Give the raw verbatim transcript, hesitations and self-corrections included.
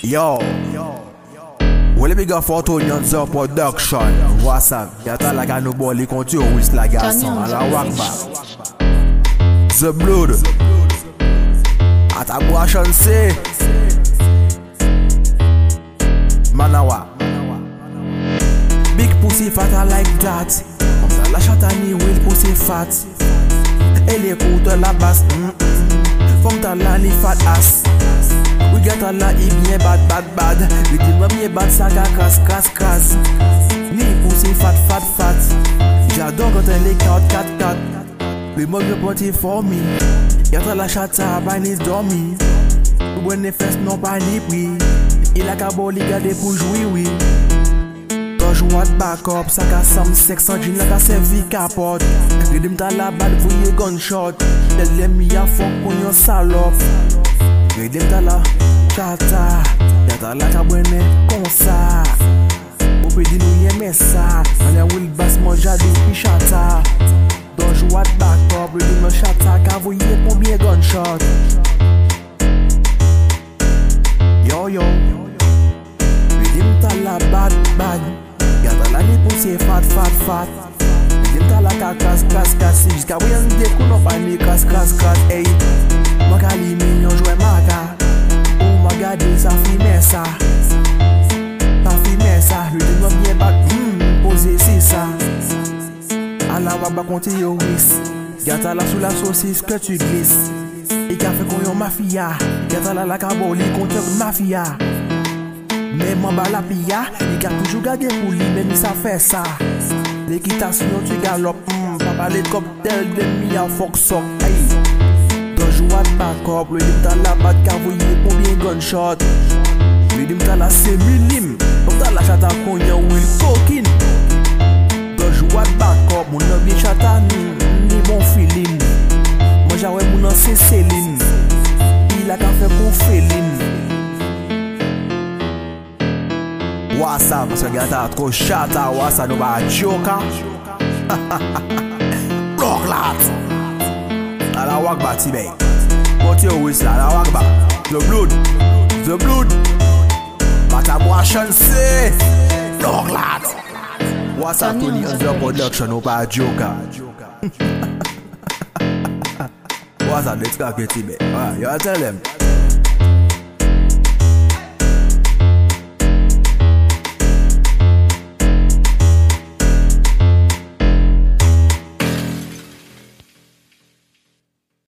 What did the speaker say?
Yo, wole big up for Tony on the production. What's up? Yata like I no boli konti o wis la garçon. A la wakba The Blood Atabwa chanse Manawa Big pussy fat I like that. La chatani will pussy fat. Elle écoute la basse. Femme ta la li fat ass. We get a la i bien bad bad bad. We dit moi bien bad saga crasse crasse crasse. Ni pussy fat fat fat. J'adore quand elle est quatre quatre quatre. Le mug de party for me. Y'a la chata banis dormi. Ou bonne fesses non pas ni prix. Il a qu'à boli garder pour jouer oui. Dodge what back up, ça ka some sex on jean like a servi capote. Redim ta la bad voye gunshot. Tell them me a fuck on your salope. Redim ta la chata. Y'a ta la ka bwene kon sa. Ou pe di nou yeme sa. Ane will bass mo jadi pi chata. Dodge what back up, redim no chata. Ka voye pou bien gunshot. Yo yo Redim ta la bad bad. Y'a la li pousse fat fat fat. Redim ta la ka kras kras kras. Jusqu'à voyan de kou non pa ni kras kras kras. Hey, maka li men yon jwe maka. Ou maga de sa fi mesa. Sa fi mesa. Redim non bien bad. Hmm, pose si sa. Ala waba konti yo wis. Y'a la sous la saucisse que tu glisses. Et qu'a fait qu'on yon mafia. Y'a la la kaboli contre mafia. Mais m'en bas la pilla. Il a toujours gardé pour lui, même ça fait ça. L'équitation tu galopes. Mm, papa les cocktails de mi a fuck sock. Hey, dans joie de back up. Le dim ta la bat cavoyer pour bien gunshot. Le dim ta la c'est milim. Comme ta la chata qu'on yon will coquine. Dans joie de back up. Mon nom bien chata ni, ni bon feeling. Moi j'avais mon nom c'est Céline. Il a qu'à faire pour féline. Wasa, parce que gata trop chata. Wasa no ba joka. Blocklat. A la wakba tibey. Monte yo wis la, a la wakba. The Blood, The Blood. Atabwa chanse. Blocklat. Wasa Tony on the production no ba joka. Wasa let's go get tibey. Ah, you tell them.